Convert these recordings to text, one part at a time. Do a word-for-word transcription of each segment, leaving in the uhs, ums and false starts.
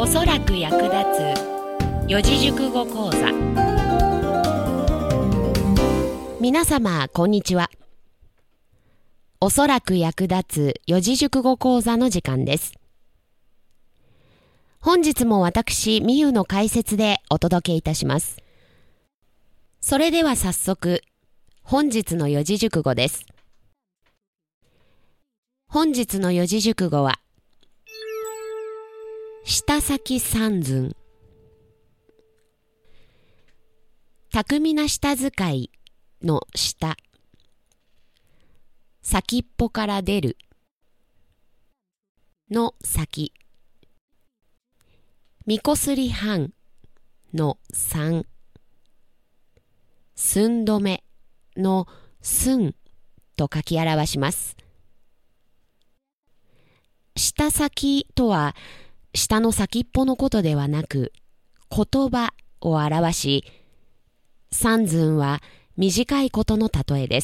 おそらく役立つ四字熟語講座。皆様こんにちは。おそらく役立つ四字熟語講座の時間です。本日も私みゆの解説でお届けいたします。それでは早速本日の四字熟語です。本日の四字熟語は下先三寸。巧みな舌使いの下、先っぽから出るの先、みこすり半の三、寸止めの寸と書き表します。下先とは下の先っぽのことではなく言葉を表し、三寸は短いことの例えです。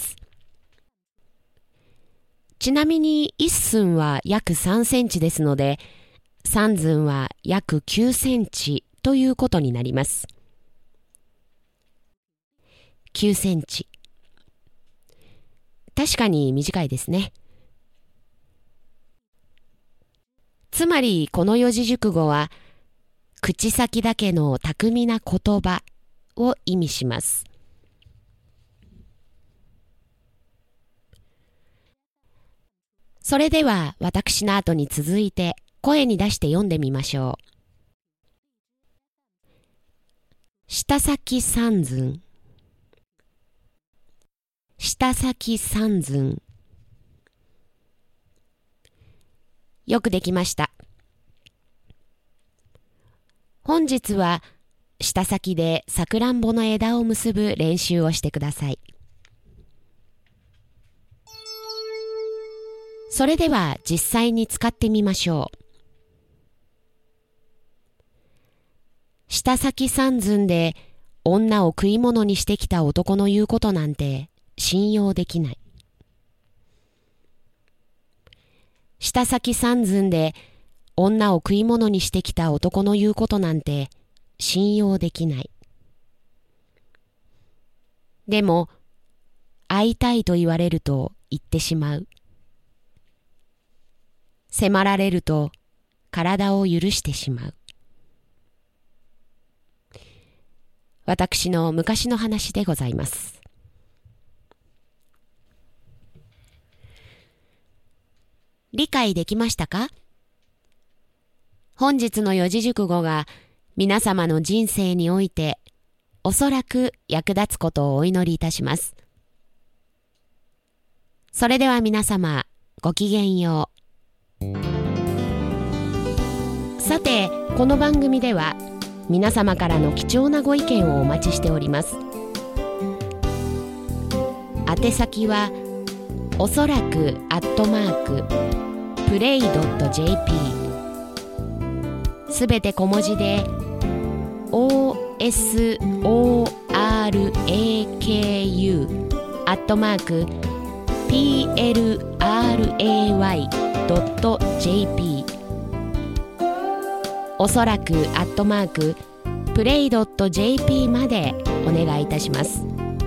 ちなみに一寸は約さんセンチですので、三寸は約きゅうセンチということになります。きゅうセンチ。確かに短いですね。つまりこの四字熟語は口先だけの巧みな言葉を意味します。それでは私の後に続いて声に出して読んでみましょう。下先三寸。下先三寸。よくできました。本日は舌先でさくらんぼの枝を結ぶ練習をしてください。それでは実際に使ってみましょう。下先三寸で女を食い物にしてきた男の言うことなんて信用できない。下先三寸で女を食い物にしてきた男の言うことなんて信用できない。でも会いたいと言われると言ってしまう。迫られると体を許してしまう。私の昔の話でございます。理解できましたか？本日の四字熟語が皆様の人生においておそらく役立つことをお祈りいたします。それでは皆様ごきげんよう。さて、この番組では皆様からの貴重なご意見をお待ちしております。宛先はおそらくアットマークプレイドットジェーピー、 すべて小文字で オーエスオーアールエーケーユー アットマーク ピーエルアールエーワイ ドット ジェーピー、 おそらくアットマークプレイドット ジェーピー までお願いいたします。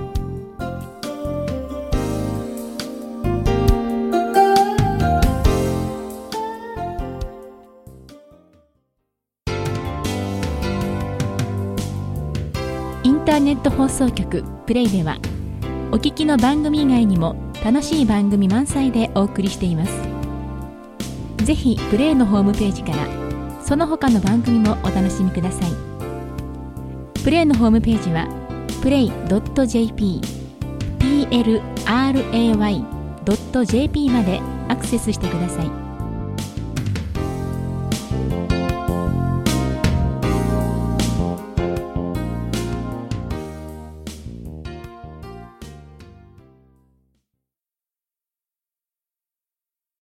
インターネット放送局プレイではお聞きの番組以外にも楽しい番組満載でお送りしています。ぜひプレイのホームページからその他の番組もお楽しみください。プレイのホームページは プレイドットジェーピー、 ピーエルアールエーワイ ドット ジェーピー までアクセスしてください。